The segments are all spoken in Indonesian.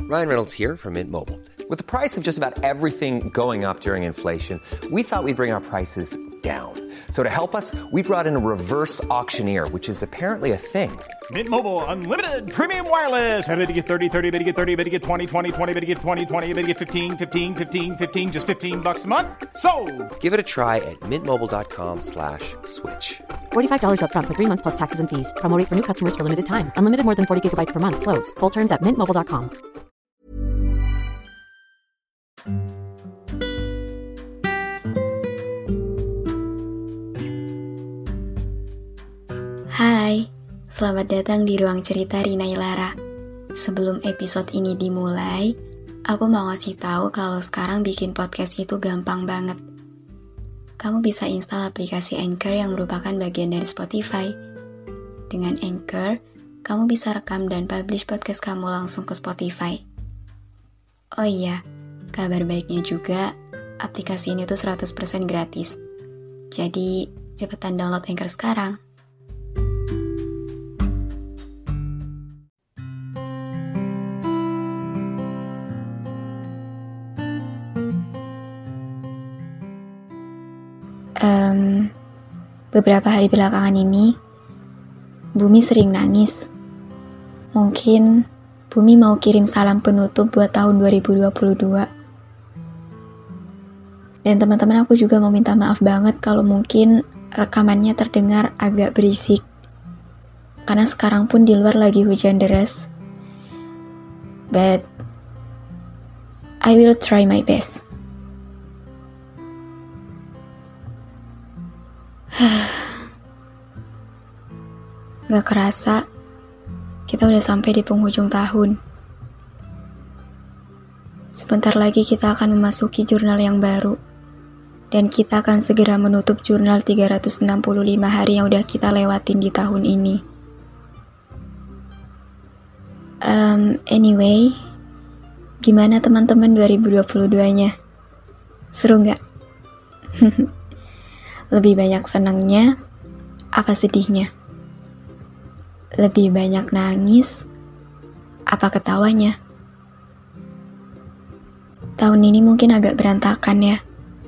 Ryan Reynolds here from Mint Mobile. With the price of just about everything going up during inflation, we thought we'd bring our prices down. So to help us, we brought in a reverse auctioneer, which is apparently a thing. Mint Mobile Unlimited Premium Wireless. How to get 30, 30, bit to get 30, bit to get 20, 20, 20, bit to get 20, 20, bit to get 15, 15, 15, 15, just $15 a month? Sold! Give it a try at mintmobile.com/switch. $45 up front for 3 months plus taxes and fees. Promo rate for new customers for limited time. Unlimited more than 40 gigabytes per month. Slows full terms at mintmobile.com. Hai, selamat datang di Ruang Cerita Rina Ilara. Sebelum episode ini dimulai, aku mau ngasih tahu kalau sekarang bikin podcast itu gampang banget. Kamu bisa install aplikasi Anchor yang merupakan bagian dari Spotify. Dengan Anchor, kamu bisa rekam dan publish podcast kamu langsung ke Spotify. Oh iya, kabar baiknya juga, aplikasi ini tuh 100% gratis. Jadi, cepetan download Anchor sekarang. Beberapa hari belakangan ini, Bumi sering nangis. Mungkin Bumi mau kirim salam penutup buat tahun 2022. Dan teman-teman aku juga mau minta maaf banget kalau mungkin rekamannya terdengar agak berisik. Karena sekarang pun di luar lagi hujan deras. But I will try my best. Gak kerasa, kita udah sampai di penghujung tahun. Sebentar lagi kita akan memasuki jurnal yang baru. Dan kita akan segera menutup jurnal 365 hari yang udah kita lewatin di tahun ini. Anyway, gimana teman-teman 2022-nya? Seru gak? Lebih banyak senangnya, apa sedihnya? Lebih banyak nangis, apa ketawanya? Tahun ini mungkin agak berantakan ya.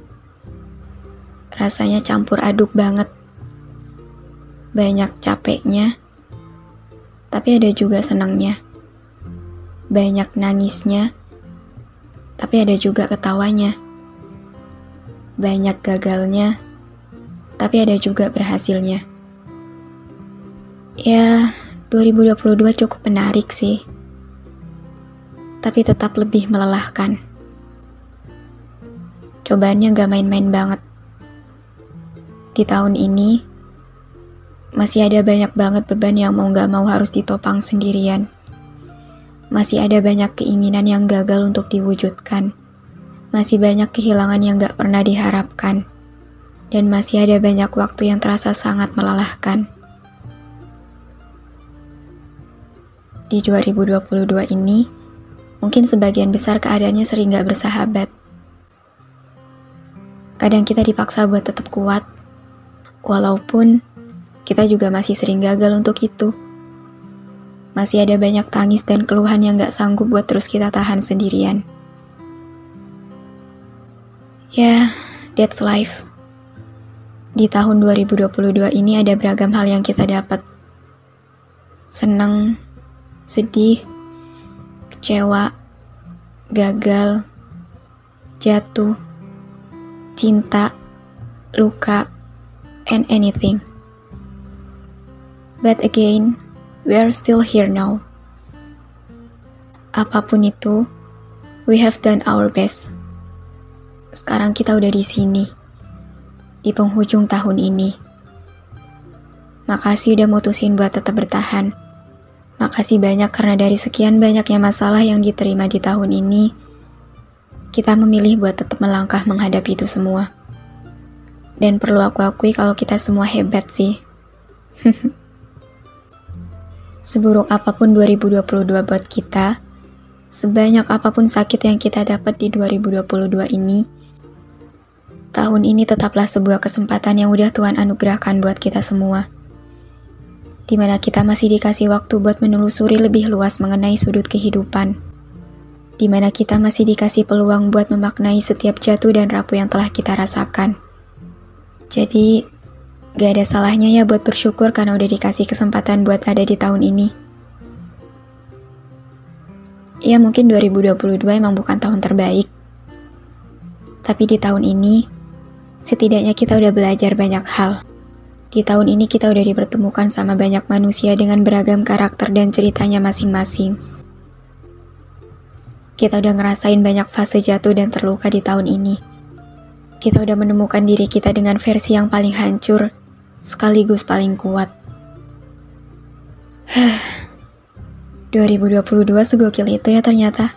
Rasanya campur aduk banget. Banyak capeknya, tapi ada juga senangnya. Banyak nangisnya, tapi ada juga ketawanya. Banyak gagalnya, tapi ada juga berhasilnya. Ya, 2022 cukup menarik sih. Tapi tetap lebih melelahkan. Cobaannya gak main-main banget. Di tahun ini, masih ada banyak banget beban yang mau gak mau harus ditopang sendirian. Masih ada banyak keinginan yang gagal untuk diwujudkan. Masih banyak kehilangan yang gak pernah diharapkan. Dan masih ada banyak waktu yang terasa sangat melelahkan. Di 2022 ini, mungkin sebagian besar keadaannya sering gak bersahabat. Kadang kita dipaksa buat tetap kuat, walaupun kita juga masih sering gagal untuk itu. Masih ada banyak tangis dan keluhan yang gak sanggup buat terus kita tahan sendirian. Ya, that's life. Di tahun 2022 ini ada beragam hal yang kita dapat. Senang, sedih, kecewa, gagal, jatuh, cinta, luka, and anything. But again, we are still here now. Apapun itu, we have done our best. Sekarang kita udah di sini. Di penghujung tahun ini. Makasih udah mutusin buat tetap bertahan. Makasih banyak karena dari sekian banyaknya masalah yang diterima di tahun ini, kita memilih buat tetap melangkah menghadapi itu semua. Dan perlu aku akui kalau kita semua hebat sih. Seburuk apapun 2022 buat kita, sebanyak apapun sakit yang kita dapat di 2022 ini, tahun ini tetaplah sebuah kesempatan yang udah Tuhan anugerahkan buat kita semua. Di mana kita masih dikasih waktu buat menelusuri lebih luas mengenai sudut kehidupan. di mana kita masih dikasih peluang buat memaknai setiap jatuh dan rapuh yang telah kita rasakan. Jadi, gak ada salahnya ya buat bersyukur karena udah dikasih kesempatan buat ada di tahun ini. Ya mungkin 2022 emang bukan tahun terbaik. Tapi di tahun ini, setidaknya kita udah belajar banyak hal. Di tahun ini kita udah dipertemukan sama banyak manusia dengan beragam karakter dan ceritanya masing-masing. Kita udah ngerasain banyak fase jatuh dan terluka di tahun ini. Kita udah menemukan diri kita dengan versi yang paling hancur, sekaligus paling kuat. 2022 segokil itu ya ternyata.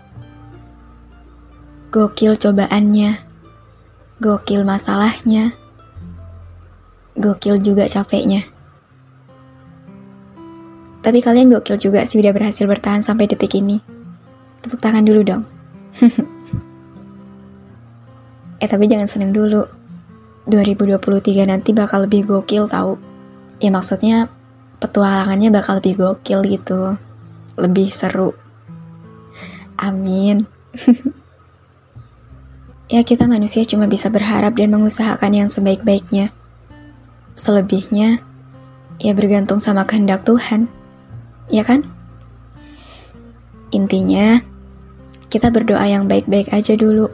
Gokil cobaannya, gokil masalahnya, gokil juga capeknya. Tapi kalian gokil juga sih udah berhasil bertahan sampai detik ini. Tepuk tangan dulu dong. Tapi jangan seneng dulu. 2023 nanti bakal lebih gokil tau. Ya maksudnya petualangannya bakal lebih gokil gitu. Lebih seru. Amin. Ya kita manusia cuma bisa berharap dan mengusahakan yang sebaik-baiknya. Selebihnya, ya bergantung sama kehendak Tuhan. Ya kan? Intinya, kita berdoa yang baik-baik aja dulu.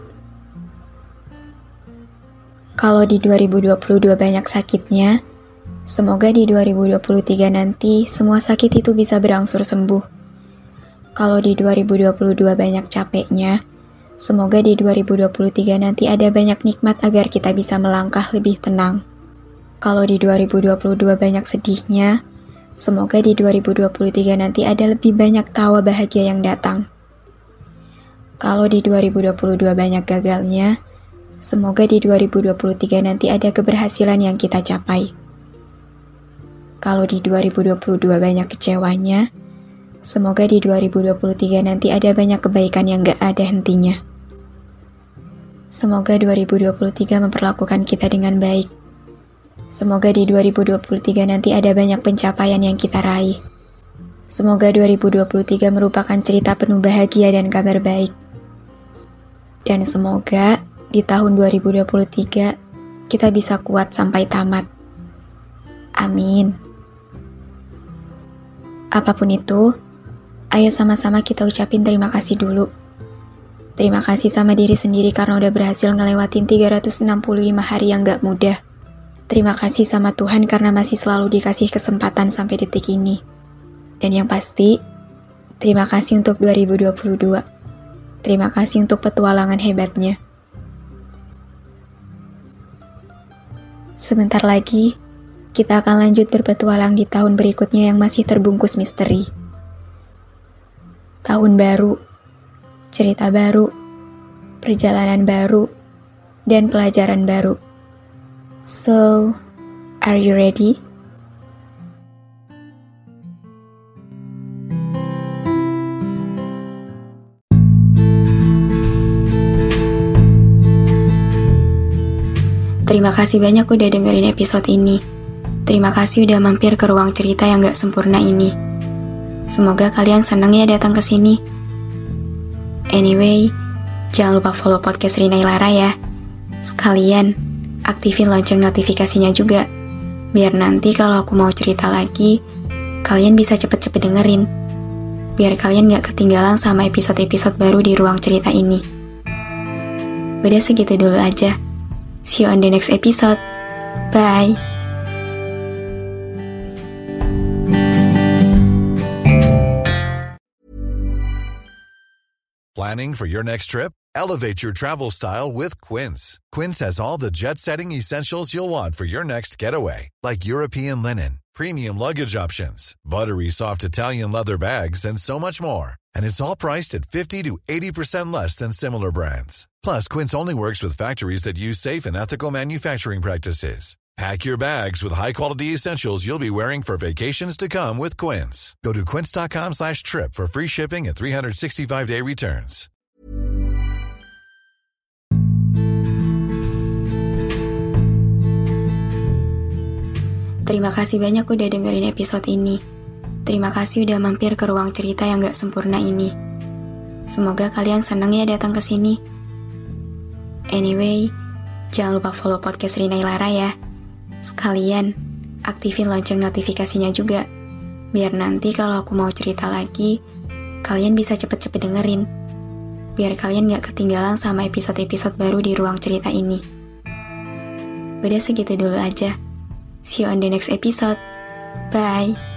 Kalau di 2022 banyak sakitnya, semoga di 2023 nanti semua sakit itu bisa berangsur sembuh. Kalau di 2022 banyak capeknya, semoga di 2023 nanti ada banyak nikmat agar kita bisa melangkah lebih tenang. Kalau di 2022 banyak sedihnya, semoga di 2023 nanti ada lebih banyak tawa bahagia yang datang. Kalau di 2022 banyak gagalnya, semoga di 2023 nanti ada keberhasilan yang kita capai. Kalau di 2022 banyak kecewanya, semoga di 2023 nanti ada banyak kebaikan yang gak ada hentinya. Semoga 2023 memperlakukan kita dengan baik. Semoga di 2023 nanti ada banyak pencapaian yang kita raih. Semoga 2023 merupakan cerita penuh bahagia dan kabar baik. Dan semoga di tahun 2023 kita bisa kuat sampai tamat. Amin. Apapun itu, ayo sama-sama kita ucapin terima kasih dulu. Terima kasih sama diri sendiri karena udah berhasil ngelewatin 365 hari yang gak mudah. Terima kasih sama Tuhan karena masih selalu dikasih kesempatan sampai detik ini. Dan yang pasti, terima kasih untuk 2022. Terima kasih untuk petualangan hebatnya. Sebentar lagi, kita akan lanjut berpetualang di tahun berikutnya yang masih terbungkus misteri. Tahun baru, cerita baru, perjalanan baru, dan pelajaran baru. So, are you ready? Terima kasih banyak udah dengerin episode ini. Terima kasih udah mampir ke ruang cerita yang gak sempurna ini. Semoga kalian seneng ya datang ke sini. Anyway, jangan lupa follow podcast Rina Ilara ya. Sekalian, aktifin lonceng notifikasinya juga. Biar nanti kalau aku mau cerita lagi, kalian bisa cepet-cepet dengerin. Biar kalian gak ketinggalan sama episode-episode baru di ruang cerita ini. Udah segitu dulu aja. See you on the next episode. Bye. Planning for your next trip? Elevate your travel style with Quince. Quince has all the jet-setting essentials you'll want for your next getaway, like European linen, premium luggage options, buttery soft Italian leather bags, and so much more. And it's all priced at 50 to 80% less than similar brands. Plus, Quince only works with factories that use safe and ethical manufacturing practices. Pack your bags with high-quality essentials you'll be wearing for vacations to come with Quince. Go to quince.com/trip for free shipping and 365-day returns. Terima kasih banyak udah dengerin episode ini. Terima kasih udah mampir ke ruang cerita yang gak sempurna ini. Semoga kalian seneng ya datang ke sini. Anyway, jangan lupa follow podcast Rina Ilara ya. Sekalian, aktifin lonceng notifikasinya juga. Biar nanti kalau aku mau cerita lagi, kalian bisa cepet-cepet dengerin. Biar kalian gak ketinggalan sama episode-episode baru di ruang cerita ini. Udah segitu dulu aja. See you on the next episode. Bye.